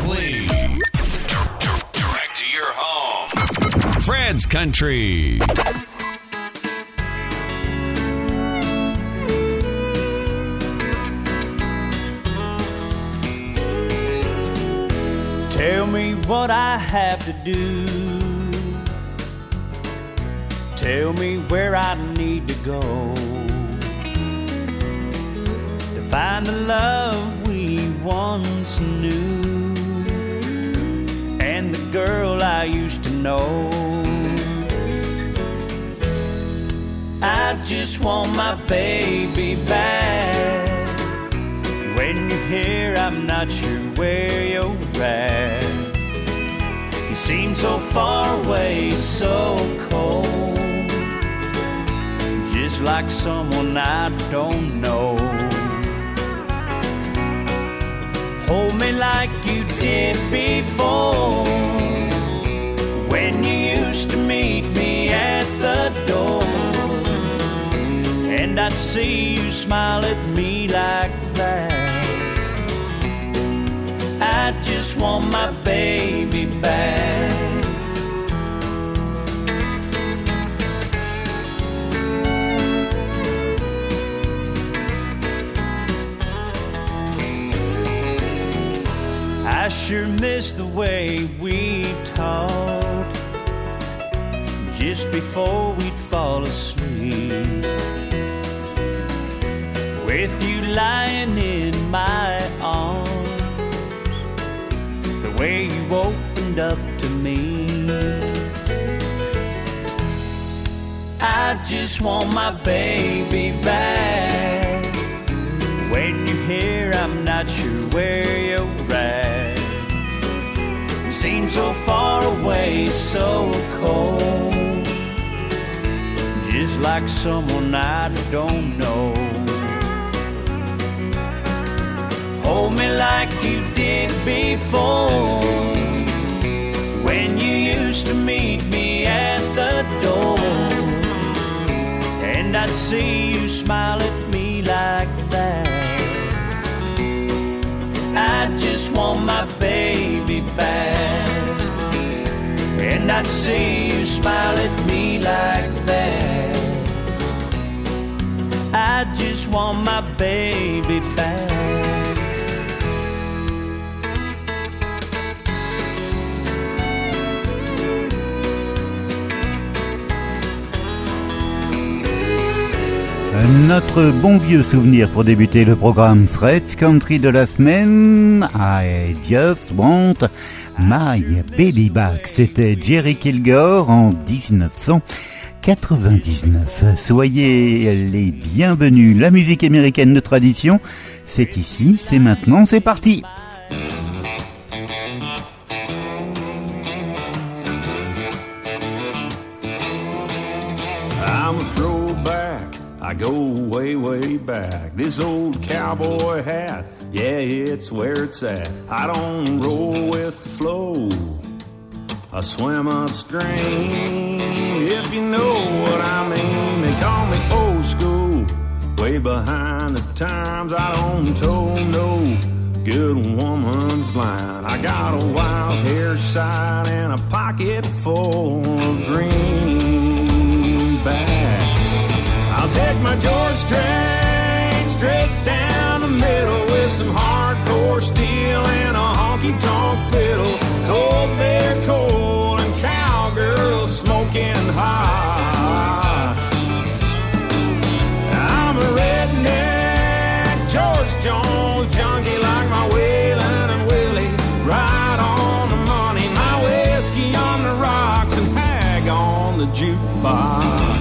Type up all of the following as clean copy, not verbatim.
clean. Direct to your home. Fred's Country. Tell me what I have to do. Tell me where I need to go to find the love we once knew and the girl I used to know. I just want my baby back. When you're here, I'm not sure where you're at. You seem so far away, so cold, just like someone I don't know. Hold me like you did before, when you used to meet me at the door, and I'd see you smile at me like that. I just want my baby back. I sure miss the way we talked just before we'd fall asleep, with you lying in my arms, the way you opened up to me. I just want my baby back. When you're here, I'm not sure where you're at. You seem so far away, so cold, just like someone I don't know. Hold me like you did before, when you used to meet me at the door, and I'd see you smile at me like that. I just want my baby back, and I'd see you smile at me like that. I just want my baby back. Notre bon vieux souvenir pour débuter le programme Fred's Country de la semaine, I Just Want My Baby Back. C'était Jerry Kilgore en 1999. Soyez les bienvenus. La musique américaine de tradition, c'est ici, c'est maintenant, c'est parti. I go way, way back. This old cowboy hat, yeah, it's where it's at. I don't roll with the flow, I swim upstream, if you know what I mean. They call me old school, way behind the times. I don't toe no good woman's line. I got a wild hair side and a pocket full of greenbacks. I'll take my George straight down the middle, with some hardcore steel and a honky-tonk fiddle. Cold bear coal and cowgirls smoking hot. I'm a redneck George Jones junkie, like my Waylon and Willie, right on the money. My whiskey on the rocks and hag on the jukebox.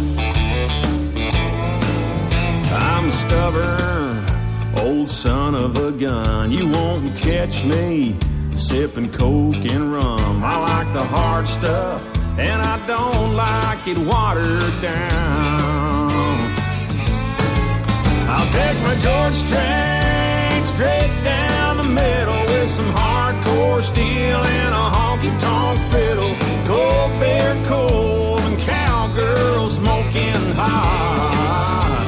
I'm a stubborn old son of a gun. You won't catch me sipping coke and rum. I like the hard stuff and I don't like it watered down. I'll take my George straight down the middle, with some hardcore steel and a honky-tonk fiddle. Cold bear coal and cowgirls smoking hot.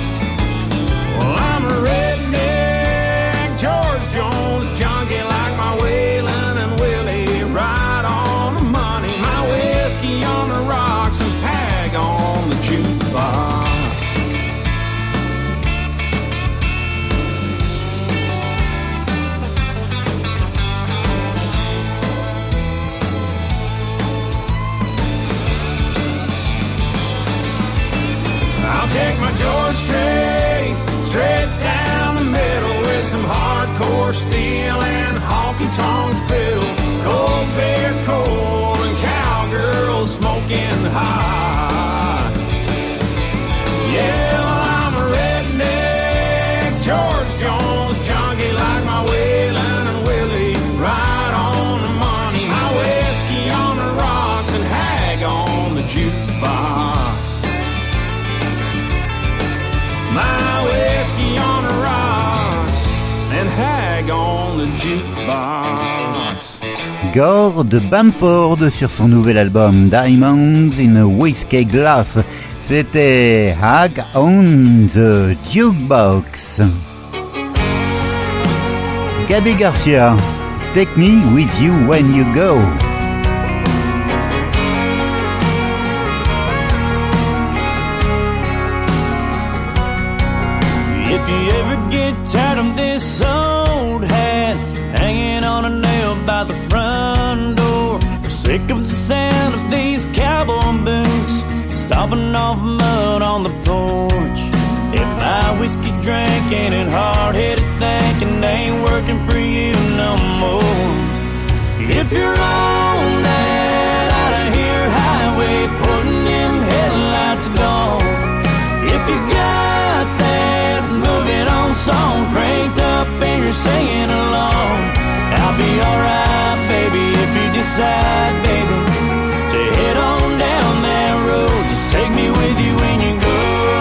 Well, I'm a redneck George Jones junkie, like my steel and honky-tonk fiddle, cold beer coal and cowgirls smoking hot. Yeah, well, I'm a redneck George Jones junkie like my Waylon and Willie, right on the money. My whiskey on the rocks and hag on the jukebox. My whiskey on the rocks and hag on the jukebox. Gord Bamford sur son nouvel album Diamonds in a Whiskey Glass. C'était Hag on the Jukebox. Gaby Garcia, Take Me With You When You Go. If you ever get tired of this old hat hanging on a nail by the front door, or sick of the sound of these cowboy boots stomping off mud on the porch, if my whiskey drinking and hard-headed thinking ain't working for you no more, if you're on that out-of-here highway putting them headlights gone, if you got that moving on song cranked up and you're singing along, I'll be alright, baby, if you decide, baby, to head on down that road. Just take me with you when you go.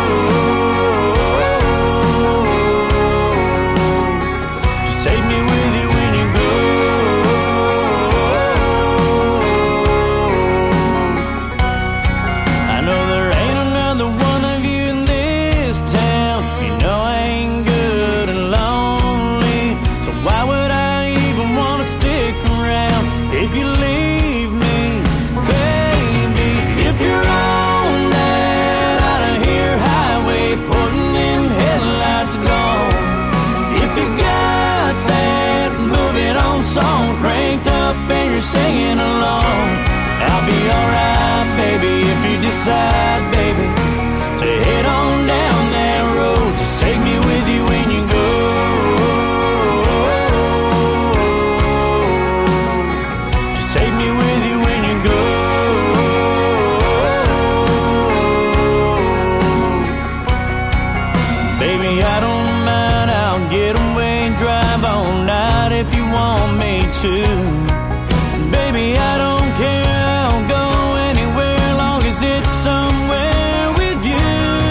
Just take me with you when you go. I know there ain't another one of you in this town. You know I ain't good and lonely, so why would I even want to stick around if you leave me, baby? If you're on that out-of-here highway putting them headlights gone, if you got that moving on song cranked up and you're singing along, I'll be alright, baby, if you decide, baby, to head on down that road. Just take me with you when you go. Just take me with you when you go. Baby, I don't mind, I'll get away and drive all night if you want me to. Baby, I don't care, I'll go anywhere long as it's somewhere with you.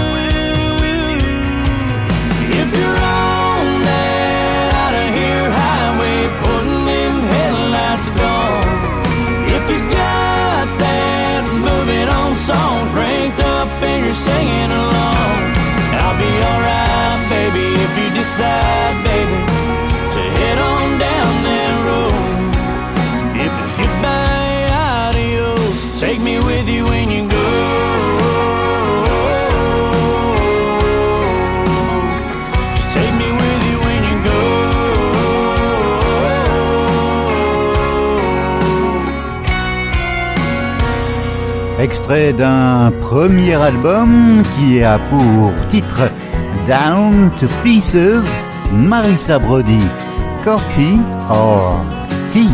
If you're on that out-of-here highway putting them headlights gone, if you got that moving on song cranked up and you're singing along, I'll be alright, baby, if you decide, baby, to head on down that road. If it's goodbye, adios, take me with you when you go. Just take me with you when you go. Extrait d'un premier album qui a pour titre Down to Pieces, Marissa Brody, Coffee or Tea.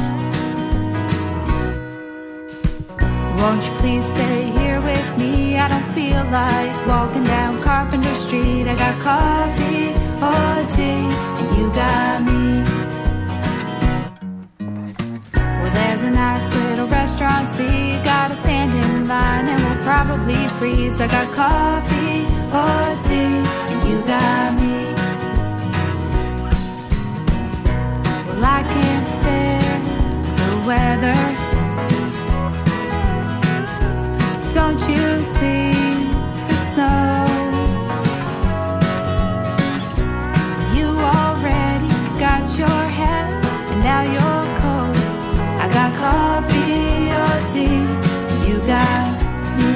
Won't you please stay here with me? I don't feel like walking down Carpenter Street. I got coffee or tea, and you got me. Well, there's a nice little restaurant, see, you gotta stand in line and we'll probably freeze. I got coffee or tea, and you got me. Well, I can't stand the weather. Don't you see the snow? You already got your hat and now you're cold. I got coffee or tea, you got me.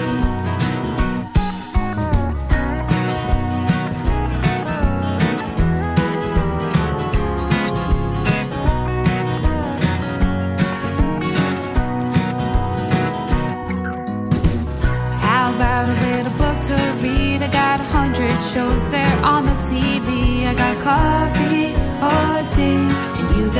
About a little book to read. I got 100 shows there on the TV. I got coffee or tea, and you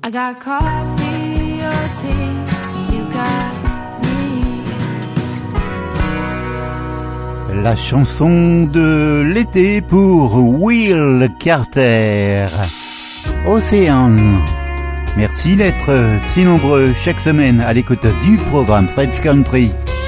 I got coffee or tea, you got me. La chanson de l'été pour Will Carter. Océan. Merci d'être si nombreux chaque semaine à l'écoute du programme Fred's Country.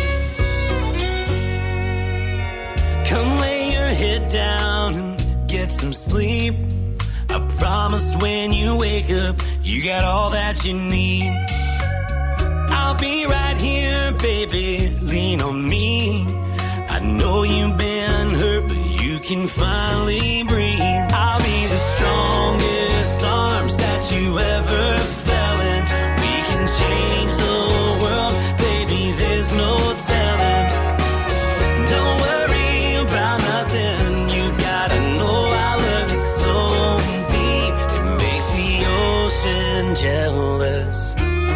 Come lay your head down and get some sleep. I promise when you wake up, you got all that you need. I'll be right here, baby, lean on me. I know you've been hurt, but you can finally breathe. I'll be the strongest arms that you ever felt in. We can change the world, baby, there's no telling. Don't worry about nothing, you gotta know I love you so deep. It makes the ocean jealous.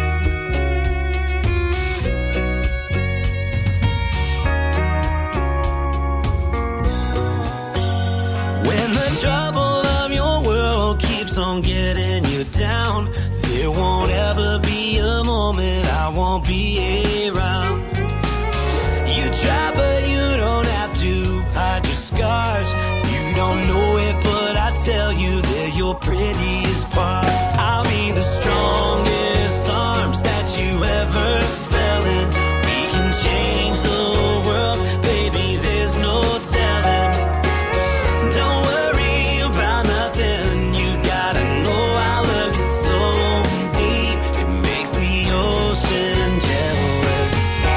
On getting you down, there won't ever be a moment I won't be around. You try but you don't have to hide your scars. You don't know it but I tell you they're your prettiest part. I'll be the strongest arms that you ever felt in. We can change the world, baby, there's no telling. Don't worry about nothing, you gotta know I love you so deep. It makes the ocean jealous.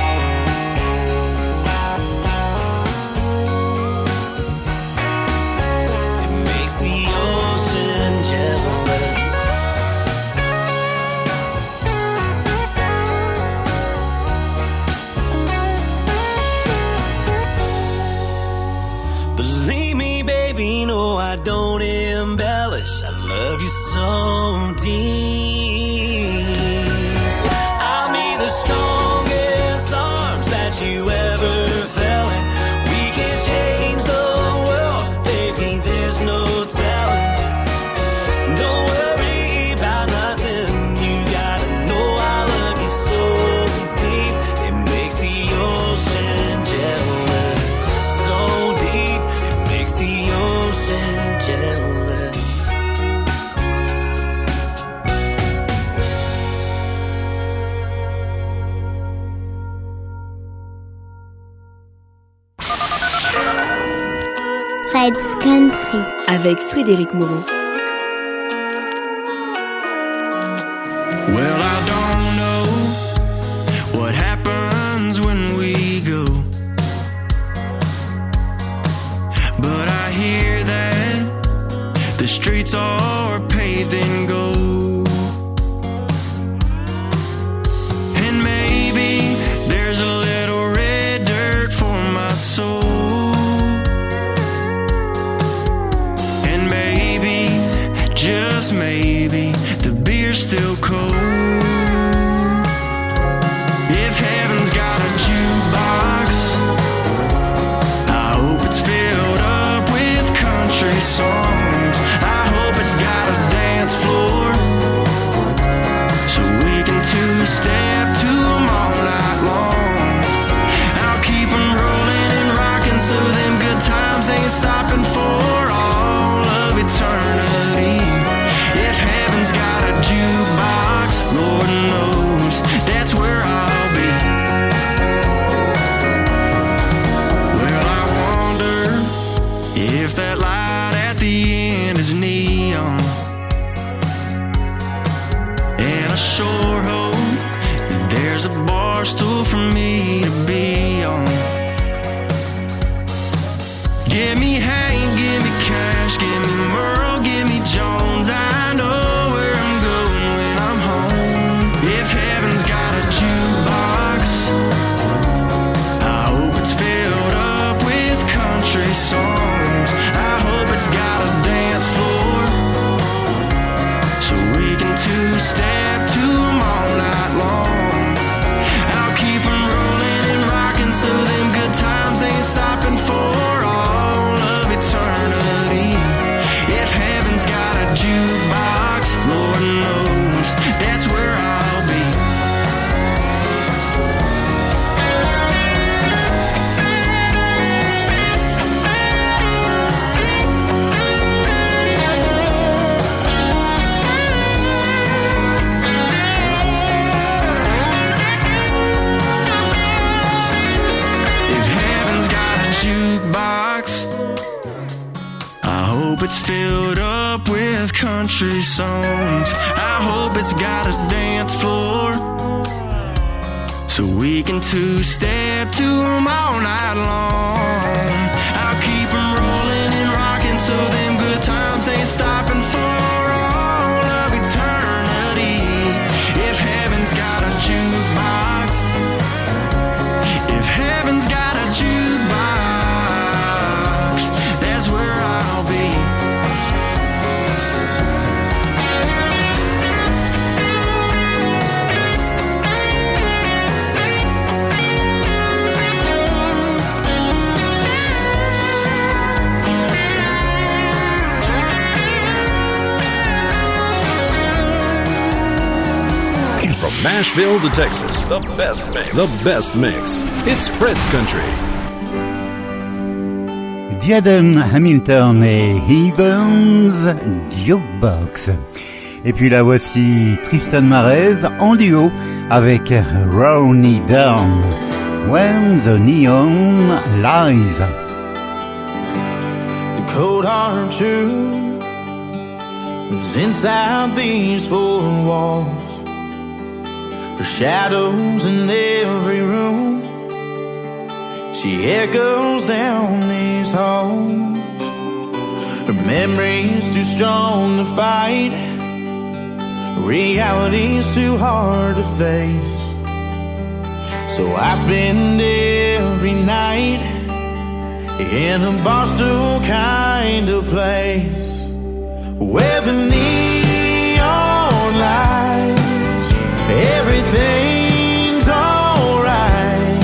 It makes the ocean jealous. Believe me, baby, no, I don't embellish. I love you so deep. I'll be the strongest arms that you ever felt in. We can change the world, baby, there's no telling. Don't worry about nothing, you gotta know I love you so deep. It makes the ocean jealous. So deep, it makes the ocean jealous. Fred's Country avec Frédéric Moreau. Well, I don't know what happens when we go, but I hear that the streets are paved in gold, and maybe there's a little red dirt for my soul. Just maybe the beer's still cold. If heaven's got a jukebox, I hope it's filled up with country songs. I hope it's got a dance floor, so we can two-step to 'em all night long. I'll keep 'em rolling and rocking so them good times ain't stopping for all of eternity. If heaven's got a jukebox, Lord knows that's where I'll be. Well, I wonder if that light at the end is neon, and I sure hope that there's a bar stool for me to be on. Give me Hank, give me Cash, give me Merle, give me Jones. I know where I'm going when I'm home. If heaven's got a jukebox, I hope it's filled up with country songs. I hope it's got a dance floor, so we can two-step to 'em all night long. I'll keep 'em rolling and rocking so them good times ain't stopping for all of eternity. country songs. I hope it's got a dance floor, so we can two-step to them all night long. I'll keep them rolling and rocking, so them good times ain't stopping for all of eternity. If heaven's got a jukebox, if heaven's got a jukebox, that's where I'll be. From Nashville to Texas, the best mix. The best mix. It's Fred's Country. Jaden Hamilton et Evans Jukebox. Et puis là voici Tristan Marez en duo avec Ronnie Dunn. When the Neon Lies. The cold hard truth is inside these four walls. Her shadows in every room, she echoes down these halls. Her memory's too strong to fight, reality's too hard to face. So I spend every night in a Barstool kind of place, where the neon lights, everything's alright.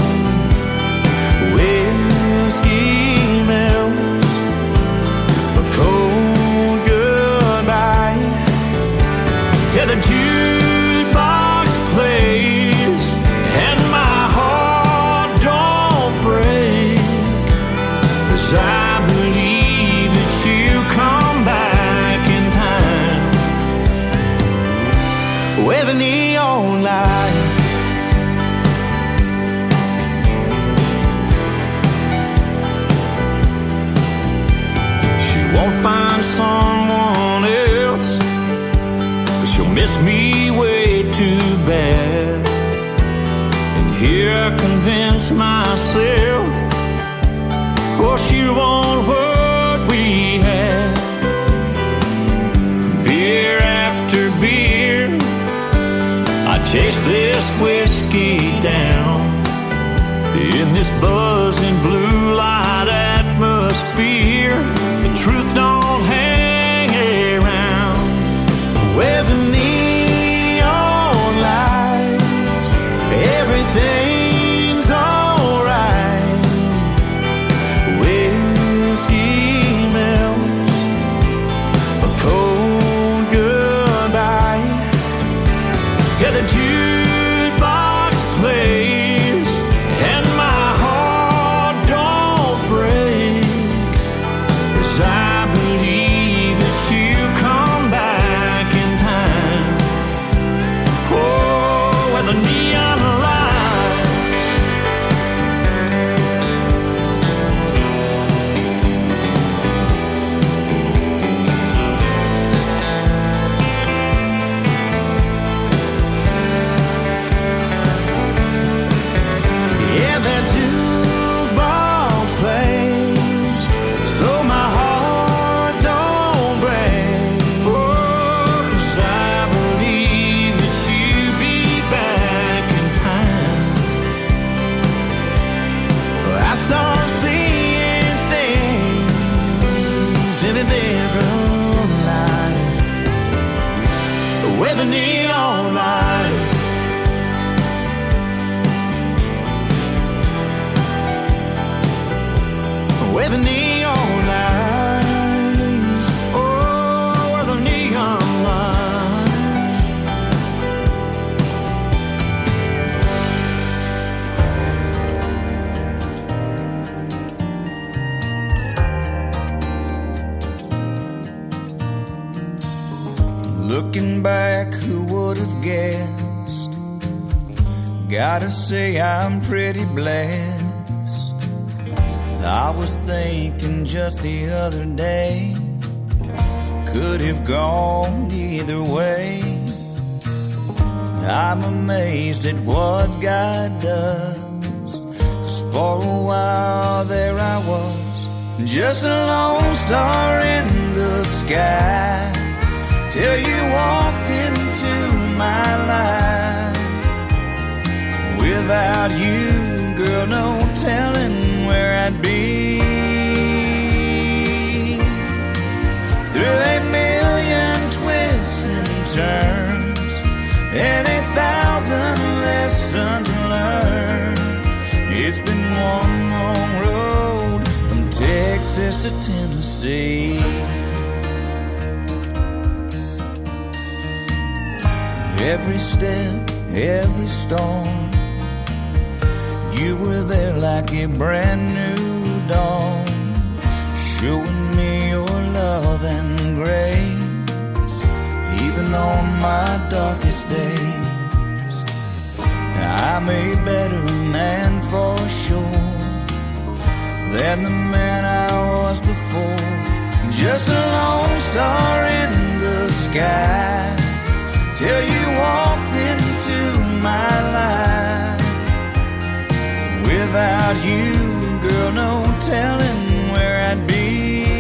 Whiskey melts, a cold goodbye. Yeah, the jukebox plays and my heart don't break, 'cause I believe that she'll come back in time. Where the neon lights, she won't find someone else, 'cause she'll miss me way too bad. And here I convince myself, oh, she won't what we had. Beer after beer, I chase this whiskey down in this buzzing blue light atmosphere. The truth don't hang around. Where the neon lights, everything's alright. Whiskey melts, a cold goodbye. Yeah, the jukebox plays and my heart don't break, 'cause I believe that she'll come back in time. Oh, where the neon lights, yeah, that jukebox plays, so my heart don't break. Oh, 'cause I believe that she'll be back in time. I start seeing things in a different light, where the neon lights, where the neon lights, oh, where the neon lights. Looking back, who would have guessed? Gotta say I'm pretty blessed. I was thinking just the other day, could have gone either way. I'm amazed at what God does, 'cause for a while there I was, just a lone star in the sky, till you walked into my life. Without you, girl, no telling where I'd be. Through a million twists and turns and 1,000 lessons learned, it's been one long road from Texas to Tennessee. Every step, every storm, you were there like a brand new dawn, showing me your love and grace, even on my darkest days. I'm a better man for sure than the man I was before. Just a lone star in the sky, till you walked into my life. Without you, girl, no telling where I'd be.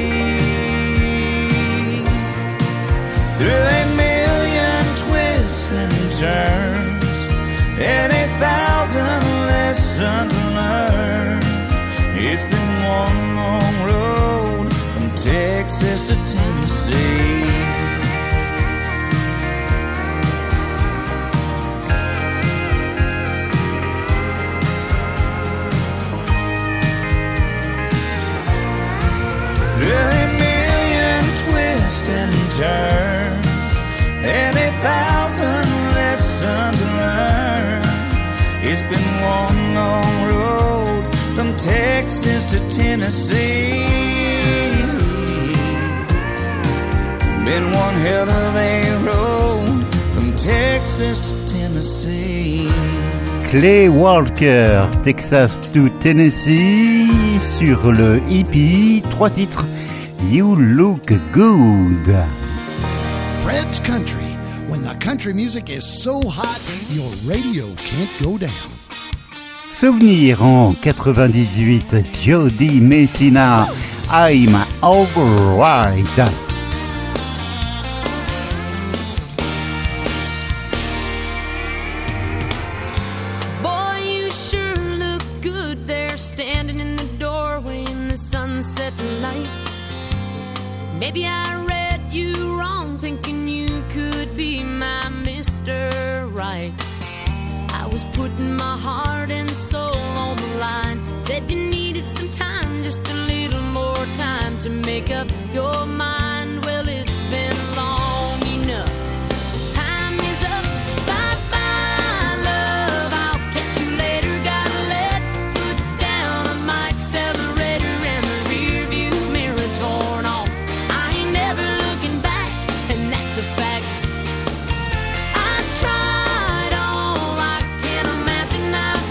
Through a million twists and turns and 1,000 lessons learned, it's been one long road from Texas to Tennessee. Through a million twists and turns and 1,000 lessons learned, it's been one long road from Texas to Tennessee. Been one hell of a road from Texas to Tennessee. Clay Walker, Texas to Tennessee, sur le EP, 3 titres, You Look Good. Fred's Country, when the country music is so hot, your radio can't go down. Souvenir en 98, Jody Messina, I'm Alright. Maybe I read you wrong, thinking you could be my Mr. Right. I was putting my heart and soul on the line. Said you needed some time, just a little more time to make up your mind. Well, it's been long enough. Time is up. Bye-bye, love. I'll catch you later. Gotta let foot down on my accelerator and the rear view mirror torn off. A fact. I tried all I can imagine. I've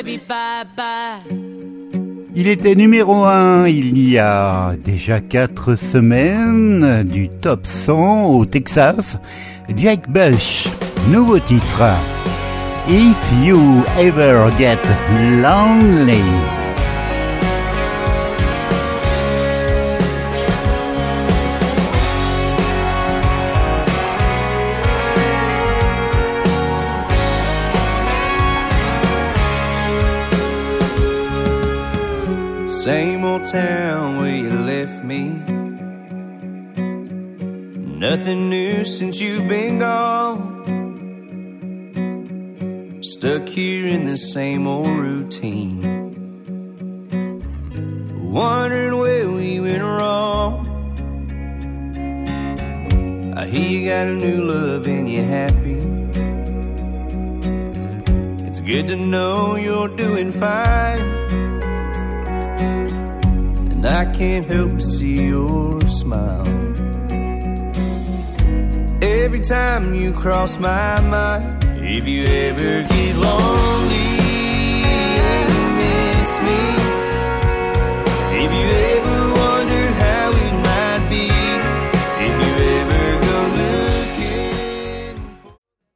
baby, bye bye. Il était numéro 1 il y a déjà 4 semaines, du top 100 au Texas. Jake Bush, nouveau titre. If You Ever Get Lonely. Same old town where you left me. Nothing new since you've been gone. Stuck here in the same old routine, wondering where we went wrong. I hear you got a new love and you're happy. It's good to know you're doing fine, and I can't help but see your smile every time you cross my mind. If you ever get lonely and you miss me, if you ever wonder how it might be, if you ever go looking for...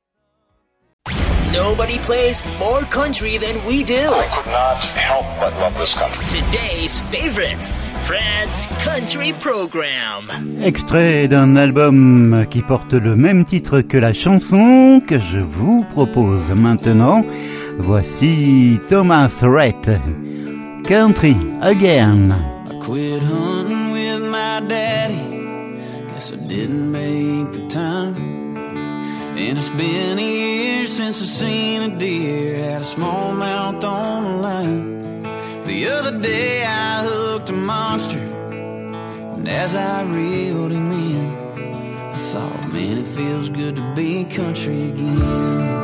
Nobody plays more country than we do. I could not help but love this country. Today's favorites, Fred's Country Program. Extrait d'un album qui porte le même titre que la chanson que je vous propose maintenant. Voici Thomas Rhett, Country Again. I quit hunting with my daddy, guess I didn't make the time. And it's been a year since I seen a deer, had a smallmouth on the line. The other day I hooked a monster, and as I reeled him in, I thought, man, it feels good to be country again.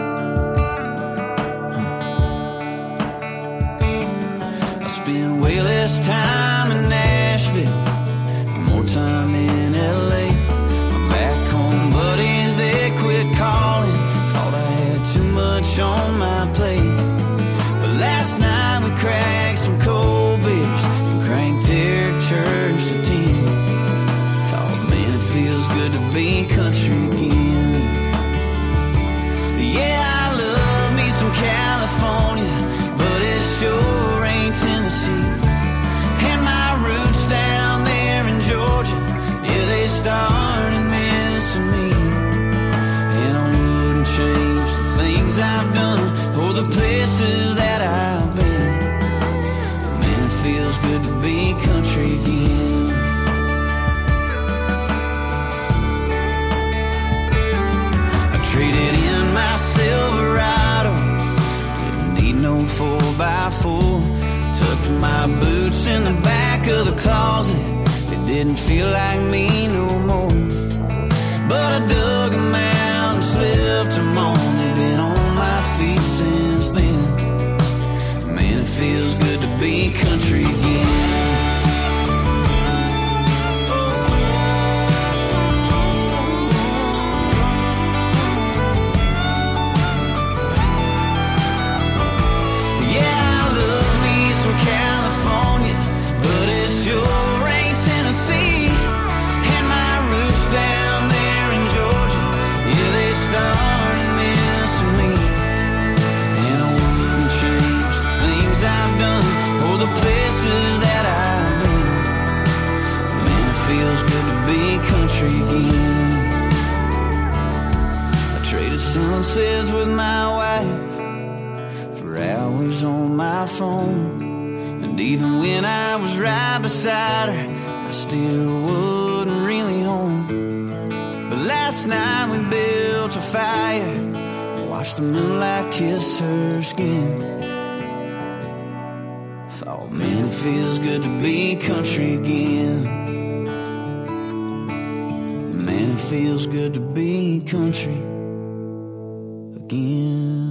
I spend way less time in Nashville, more time in LA. My back home buddies, they quit calling, thought I had too much on my plate. But last night we cracked some cold beers and cranked Eric Church to 10. Thought, man, it feels good to be country again. Yeah, I love me some California, but it sure ain't Tennessee. And my roots down there in Georgia, yeah, they started missing me. And I wouldn't change the things I've done or the places that I've been. Man, it feels good to be country again. I traded in my Silverado, didn't need no 4x4. Tucked my boots in the back of the closet, it didn't feel like me no more. But I dug them out and slipped them on, they've been on my feet since then. Man, it feels good to be country again. Yeah, I love me some California, but it sure ain't Tennessee. And my roots down there in Georgia, yeah, they started missing me. And I wouldn't change the things I've done or the places that I've been. Man, it feels good to be country again. I traded sunsets with my wife for hours on my phone. And even when I was right beside her, I still wasn't really home. But last night we built a fire, watched the moonlight kiss her skin. Thought, man, it feels good to be country again. Man, it feels good to be country again.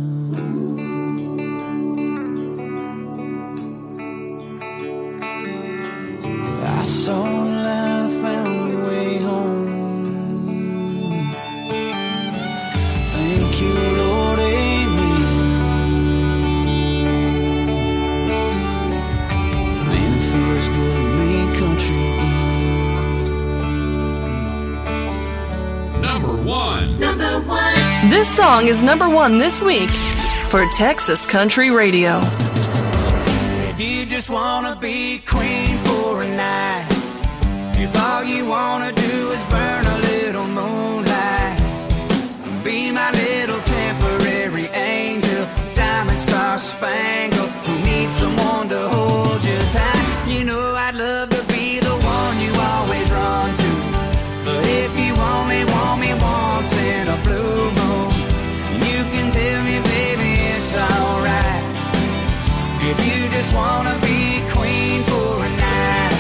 I saw a light, I found my way home. Thank you, Lord, amen. This song is #1 this week for Texas Country Radio. If you just wanna be queen for a night, if all you wanna do is burn a little moonlight, be my little temporary angel, diamond star spangled, who needs someone to hold you tight. You know I'd love to be the one you always run to, but if you only want me once in a blue moon, you can tell me, baby, it's alright. If you just wanna be queen for a night,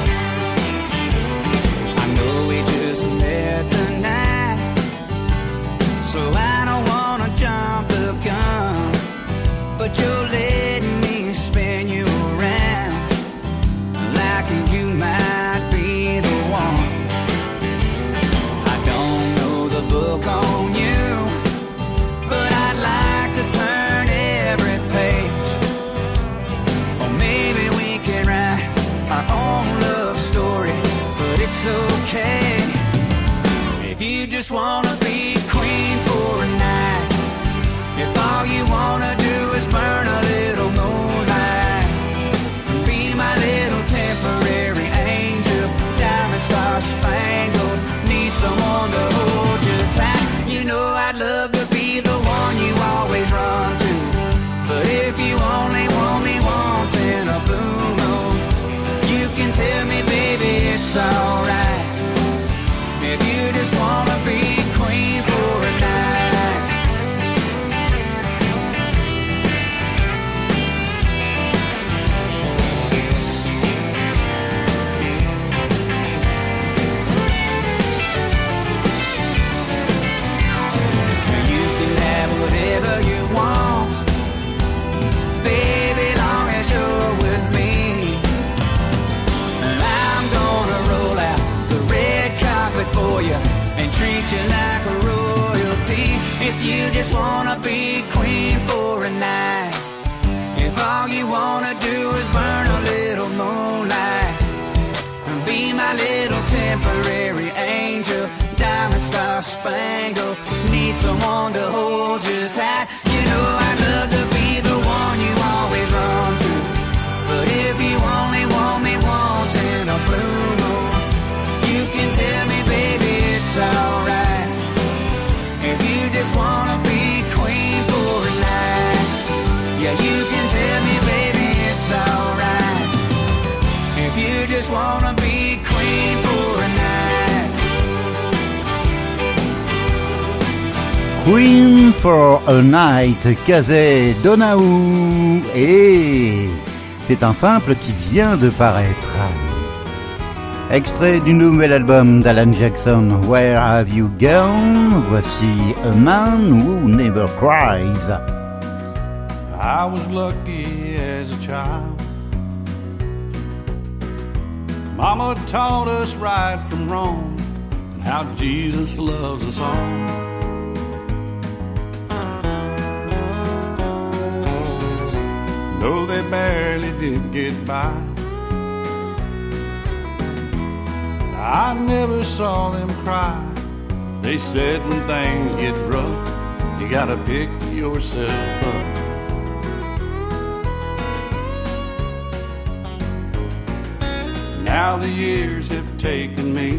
I know we just met tonight, so I don't wanna jump the gun, but you're letting me spin you around like you might be the one. I don't know the book on you, but I'd like to turn every page, or maybe we can write our own love story, but it's okay if you just wanna be queen for a night, if all you wanna do is burn a little moonlight, be my little temporary angel, diamond star spangled, need someone to hold you tight. You know I'd love to be the one you always run to, but if you only want me once in a blue moon, you can tell me, baby, it's alright. If you just wanna be queen for a night. You can have whatever you want, baby, long as you're with me. And I'm gonna roll out the red carpet for you and treat you like a royalty. If you just wanna be queen for a night, if all you wanna do is burn a little moonlight, and be my little temporary angel, diamond star spangled, need someone to hold you tight. You know I'd love to be the one you always run to, but if you only want me once in a blue moon, you can tell me, baby, it's alright. If you just wanna be queen for a night, yeah, you can tell me, baby, it's alright. If you just wanna be queen for a night. Queen for a Night, Kazay Donahue. Et c'est un simple qui vient de paraître. Extrait du nouvel album d'Alan Jackson, Where Have You Gone? Voici A Man Who Never Cries. I was lucky as a child. Mama taught us right from wrong and how Jesus loves us all. Though they barely did get by, I never saw them cry. They said when things get rough, you gotta pick yourself up. Now the years have taken me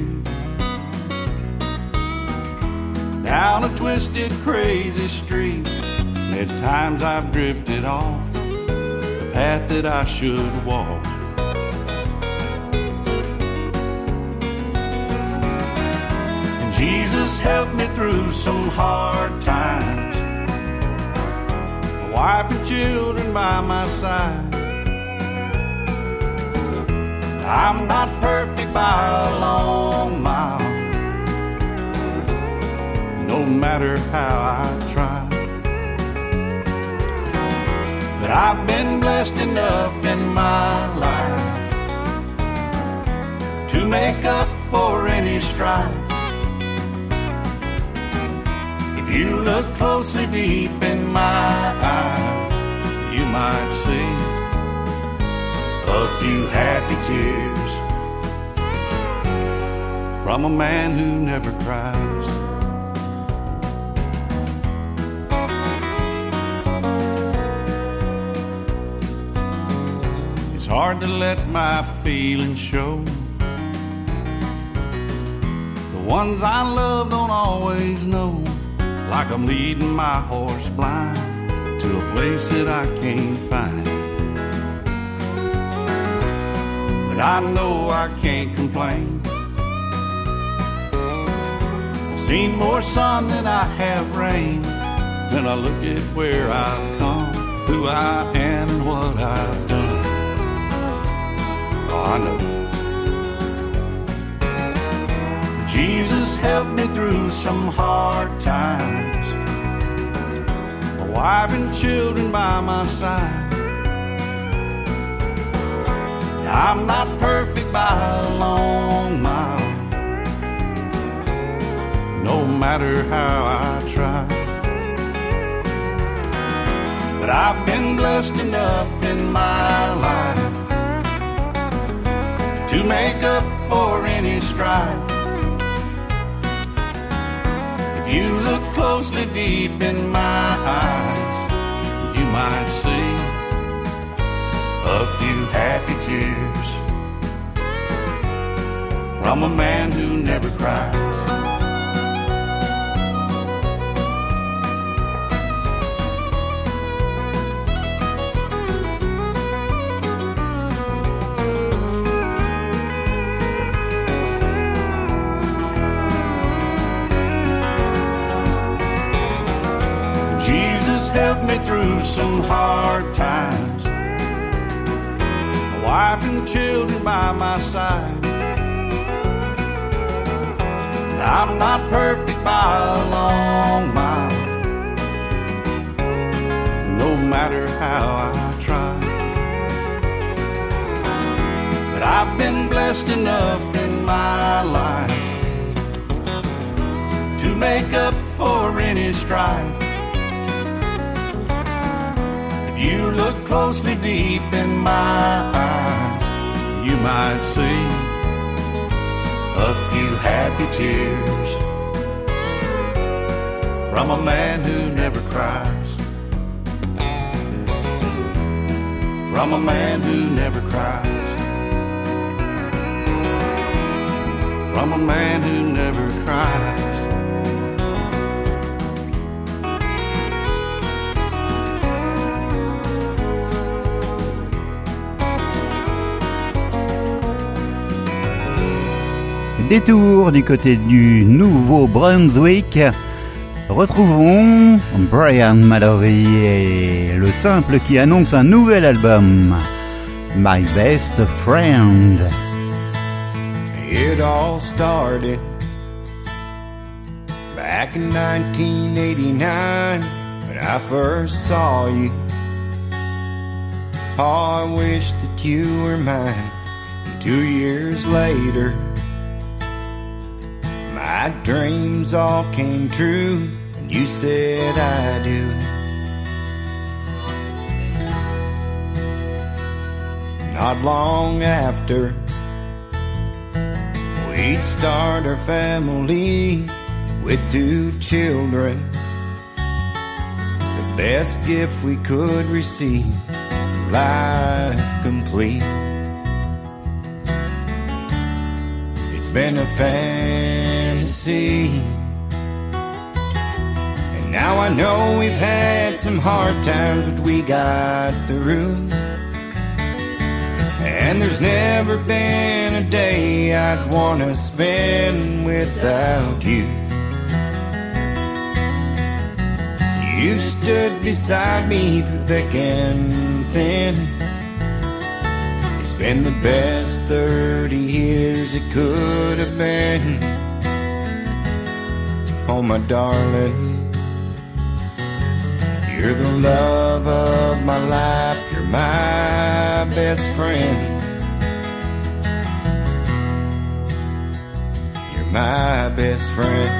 down a twisted, crazy street. At times I've drifted off the path that I should walk. And Jesus helped me through some hard times, a wife and children by my side. I'm not perfect by a long mile, no matter how I try. But I've been blessed enough in my life to make up for any strife. If you look closely deep in my eyes, you might see a few happy tears from a man who never cries. hard to let my feelings show. The ones I love don't always know, like I'm leading my horse blind to a place that I can't find. But I know I can't complain. I've seen more sun than I have rain. Then I look at where I've come, who I am and what I've done. Oh, I know. Jesus helped me through some hard times. A wife and children by my side. I'm not perfect by a long mile, no matter how I try. But I've been blessed enough in my life to make up for any strife. If you look closely deep in my eyes, you might see a few happy tears from a man who never cries. Jesus helped me through some hard times. Wife and children by my side. I'm not perfect by a long mile, no matter how I try. But I've been blessed enough in my life to make up for any strife. If you look closely deep in my eyes, you might see a few happy tears from a man who never cries. From a man who never cries. From a man who never cries. Détour du côté du Nouveau-Brunswick. Retrouvons Brian Mallory et le simple qui annonce un nouvel album, My Best Friend. It all started back in 1989 when I first saw you. Oh, I wish that you were mine. And 2 years later, my dreams all came true, and you said I do. Not long after, we'd start our family with 2 children. The best gift we could receive, life complete. It's been a fantasy, and now I know we've had some hard times, but we got through. And there's never been a day I'd want to spend without you. You stood beside me through thick and thin. It's been the best 30 years it could have been. Oh, my darling, you're the love of my life. You're my best friend. You're my best friend.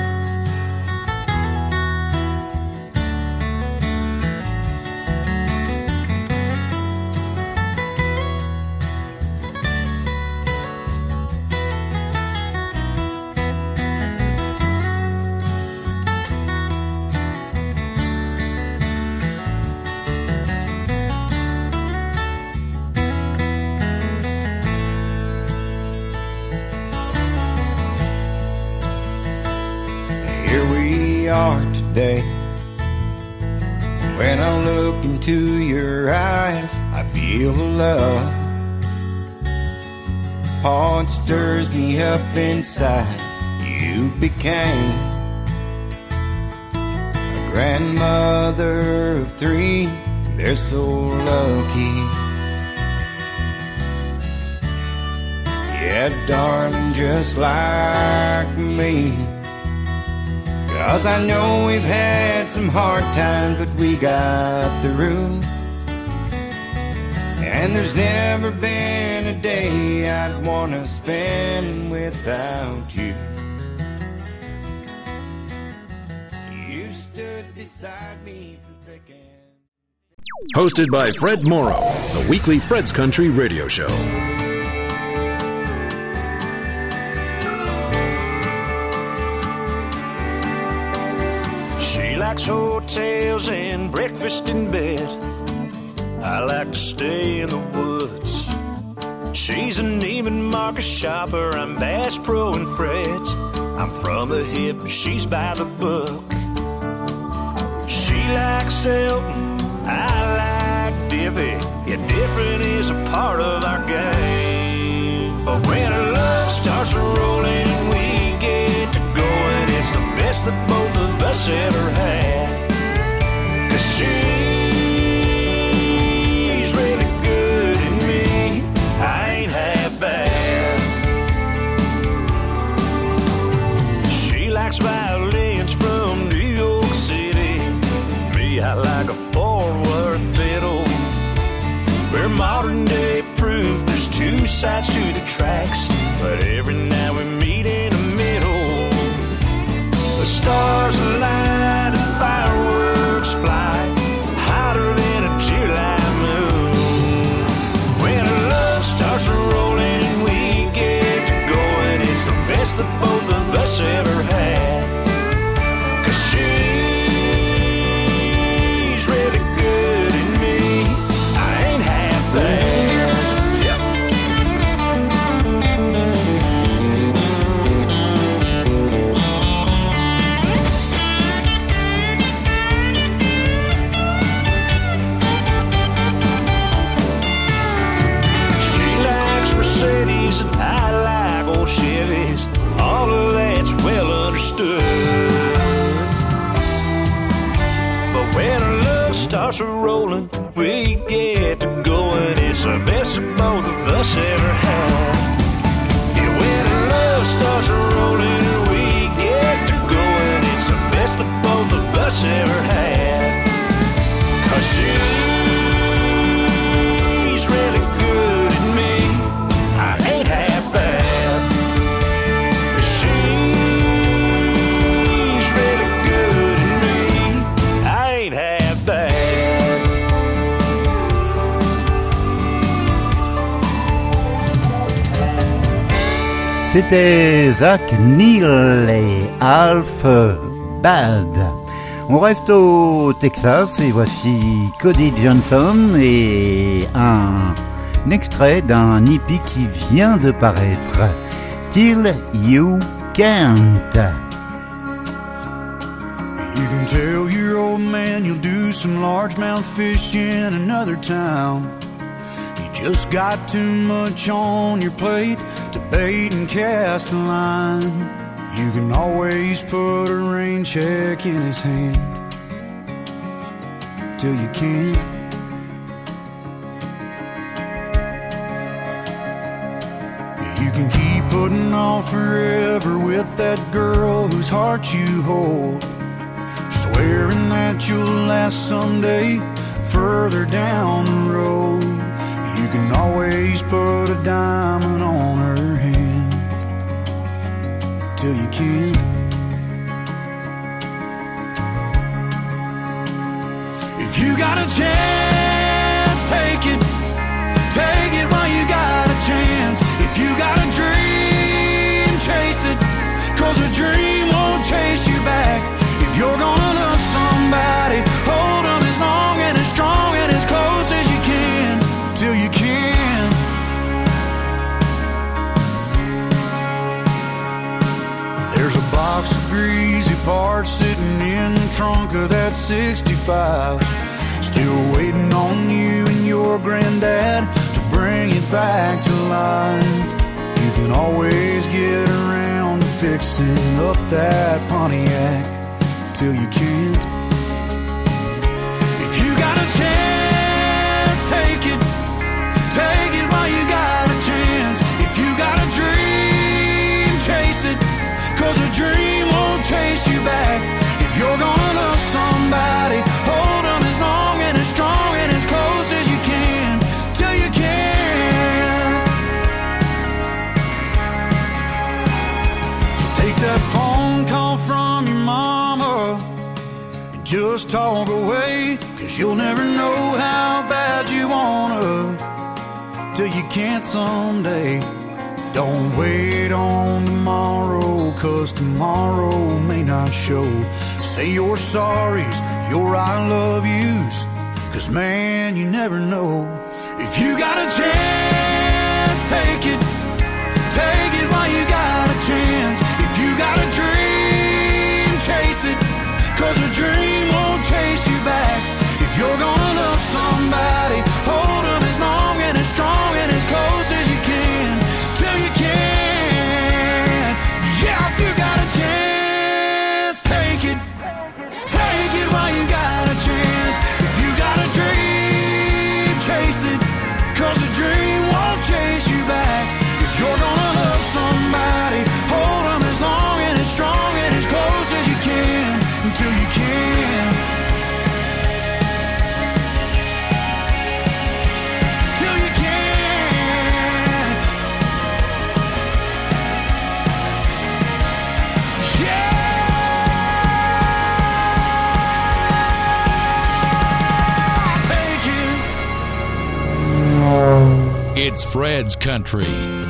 day. When I look into your eyes, I feel the love. Heart stirs me up inside. You became a grandmother of 3. They're so lucky. Yeah, darling, just like me. 'Cause I know we've had some hard times, but we got through. And there's never been a day I'd wanna spend without you. You stood beside me from thick and... Hosted by Fred Morrow, the weekly Fred's Country radio show. She likes hotels and breakfast in bed. I like to stay in the woods. She's a Neiman Marcus shopper. I'm Bass Pro and Fred's. I'm from the hip, she's by the book. She likes Elton, I like Diffie. Yeah, different is a part of our game. But when our love starts rolling and we get to going, it's the best that both of us ever had. 'Cause she's really good at me, I ain't half bad. She likes violins from New York City. Me, I like a Fort Worth fiddle. We're modern day proof there's 2 sides to the tracks, but every now we meet in the middle. The stars align and fireworks fly, hotter than a July moon. When our love starts rolling and we get to going, it's the best that both of us ever had. 'Cause she's really good at me, I ain't half bad. Mercedes and I like old Chevys. All of that's well understood. But when our love starts rolling, we get to going. It's the best that both of us ever had. Yeah, when our love starts rolling and we get to going, it's the best that both of us ever had. 'Cause she's really good at me, I ain't half bad. She's really good at me, I ain't half bad. C'était Zach Neal et Half Bad. On reste au Texas et voici Cody Johnson et un extrait d'un hippie qui vient de paraître, Till You Can't. You can tell your old man you'll do some largemouth fish in another town. You just got too much on your plate to bait and cast a line. You can always put a rain check in his hand till you can't. You can keep putting off forever with that girl whose heart you hold, swearing that you'll last someday further down the road. You can always put a diamond on her hand till you can't. If you got a chance, take it. Take it while you got a chance. If you got a dream, chase it. 'Cause a dream won't chase you back. If you're gonna love somebody, hold them as long and as strong and as close as you can till you can. There's a box of greasy parts sitting in the trunk 65. Still waiting on you and your granddad to bring it back to life. You can always get around to fixing up that Pontiac till you can't. If you got a chance, take it. Take it while you got a chance. If you got a dream, chase it. 'Cause a dream won't chase you back. If you're gonna love somebody, hold them as long and as strong and as close as you can, till you can't. So take that phone call from your mama and just talk away. 'Cause you'll never know how bad you wanna till you can't someday. Don't wait on tomorrow, 'cause tomorrow may not show. Say your sorries, your I love yous, 'cause man, you never know. If you got a chance, take it. Take it while you got a chance. If you got a dream, chase it. 'Cause a dream won't chase you back. If you're gonna love somebody, hold them as long and as strong and as close as you can, till you can. Yeah, if you got a chance, take it. Take it while you got a chance. If you got a dream, chase it. 'Cause a dream won't chase you back. If you're gonna love somebody, hold them as long and as strong and as close as you can, until you can. Till you can. Yeah. Take it. It's Fred's Country.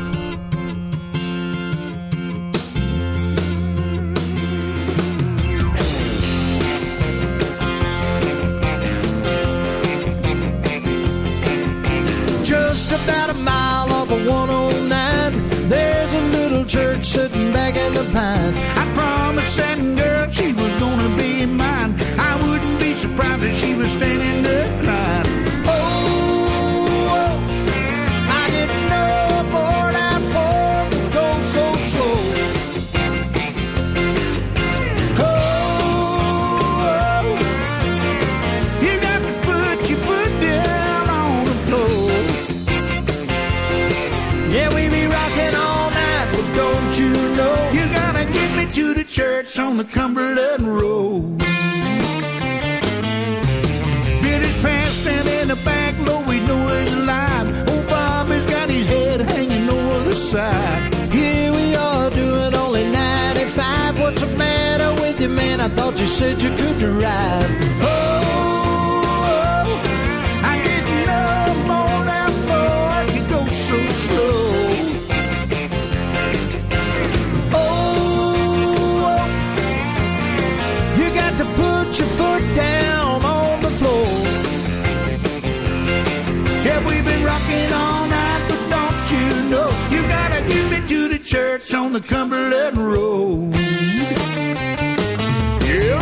Just about a mile off of 109, there's a little church sitting back in the pines. I promised that girl she was gonna be mine. I wouldn't be surprised if she was standing there crying. Oh, I didn't know a Ford Ford would go so slow. Oh, you got to put your foot down on the floor. Yeah, we be rocking all night, but don't you know? You gotta get me to the church on the Cumberland Road. Billy's fast and in the back, low, we know he's alive. Oh, Bob has got his head hanging over the side. Here we are doing only 95. What's the matter with you, man? I thought you said you could drive. Oh, I didn't know Ford Ford could go so slow. Oh, you got to put your foot down on the floor. Yeah, we've been rocking all night, but don't you know? You gotta get me to the church on the Cumberland Road. Yeah.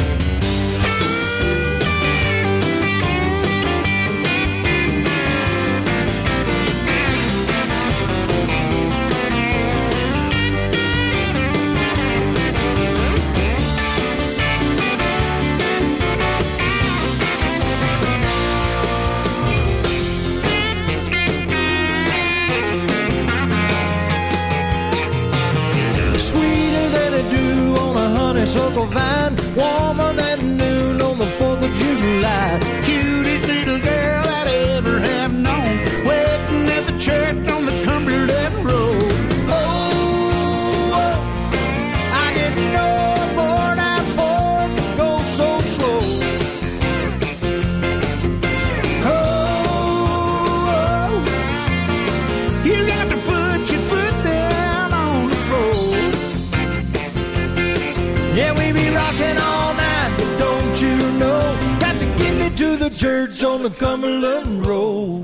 Sweeter than a dew on a honeysuckle vine, warmer than noon on the 4th of July. Cutest little girl I'd ever have known, waiting at the church on the Cumberland Road. Oh, I didn't know a Ford Ford would go so slow. Oh, you got to put your foot down on the floor. Yeah, we be rocking all night, but don't you know? Got to get me to the church on the Cumberland Road.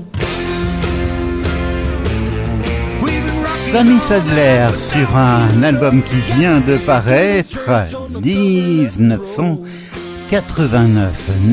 Sammy Sadler sur un album qui vient de paraître, 1900. 1989.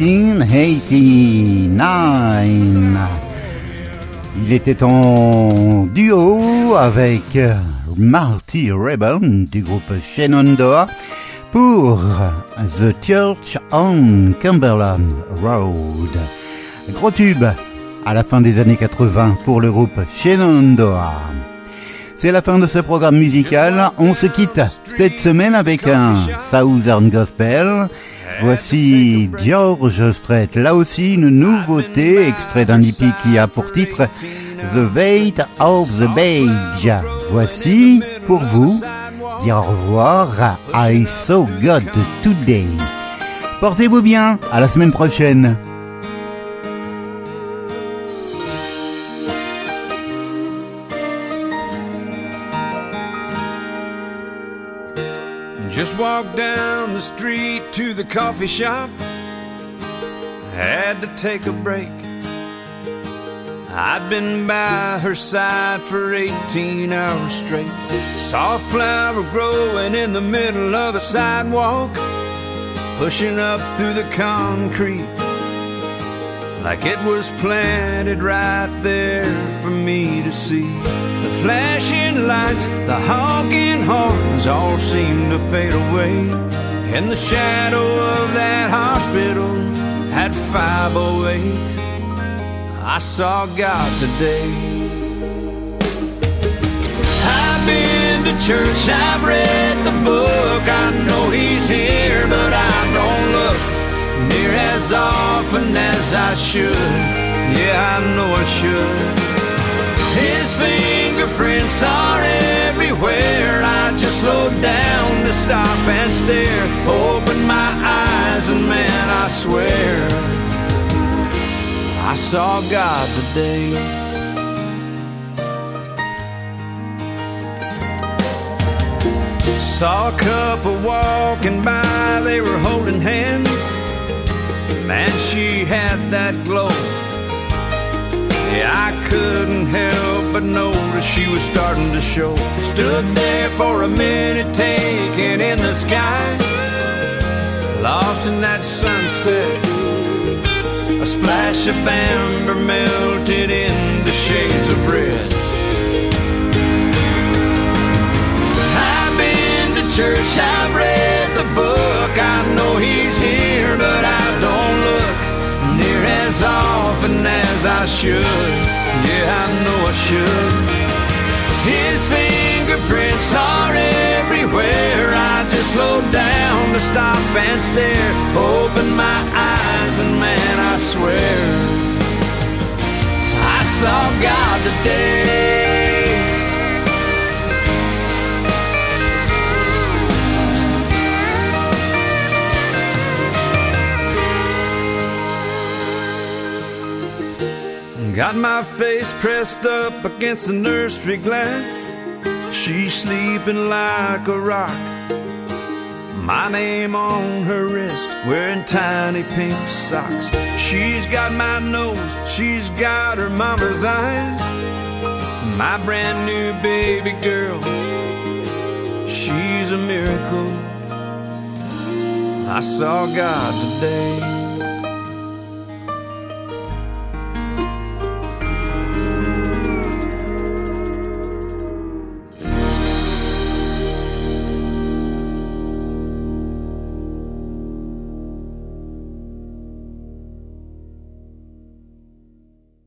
1989. Il était en duo avec Marty Ribble du groupe Shenandoah pour The Church on Cumberland Road. Gros tube à la fin des années 80 pour le groupe Shenandoah. C'est la fin de ce programme musical. On se quitte cette semaine avec un Southern Gospel. Voici George Strait, là aussi une nouveauté, extrait d'un EP qui a pour titre The Weight of the Beige. Voici pour vous dire au revoir à I Saw God Today. Portez-vous bien, à la semaine prochaine. Just walked down the street to the coffee shop. Had to take a break. I'd been by her side for 18 hours straight. Saw a flower growing in the middle of the sidewalk, pushing up through the concrete like it was planted right there for me to see. The flashing lights, the honking horns all seemed to fade away. In the shadow of that hospital at 508, I saw God today. I've been to church, I've read the book, I know He's here, but I don't look near as often as I should. Yeah, I know I should. His fingerprints are everywhere. I just slowed down to stop and stare. Opened my eyes and man, I swear I saw God today. Saw a couple walking by, they were holding hands. Man, she had that glow. Yeah, I couldn't help but notice she was starting to show. Stood there for a minute, taking in the sky, lost in that sunset. A splash of amber melted into shades of red. I've been to church, I've read the book, I know He's here, but I don't look near as often as I should. Yeah, I know I should. His fingerprints are everywhere. I just slowed down to stop and stare. Opened my eyes and man, I swear I saw God today. Got my face pressed up against the nursery glass. She's sleeping like a rock. My name on her wrist, wearing tiny pink socks. She's got my nose, she's got her mama's eyes. My brand new baby girl, she's a miracle. I saw God today.